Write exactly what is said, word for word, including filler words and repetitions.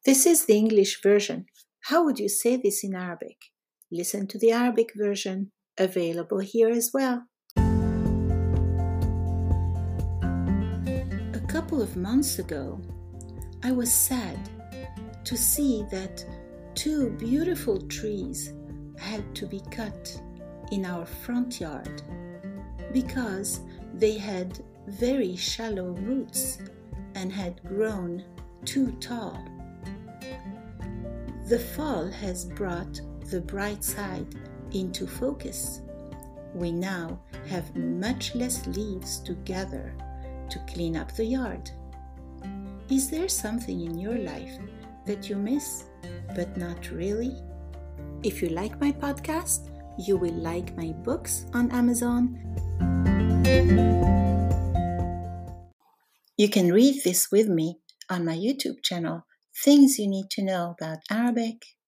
This is the English version. How would you say this in Arabic? Listen to the Arabic version, available here as well. A couple of months ago, I was sad to see that two beautiful trees had to be cut in our front yard because they had very shallow roots and had grown too tall. The fall has brought the bright side into focus. We now have much less leaves to gather to clean up the yard. Is there something in your life that you miss, but not really? If you like my podcast, you will like my books on Amazon. You can read this with me on my YouTube channel, Things You Need to Know About Arabic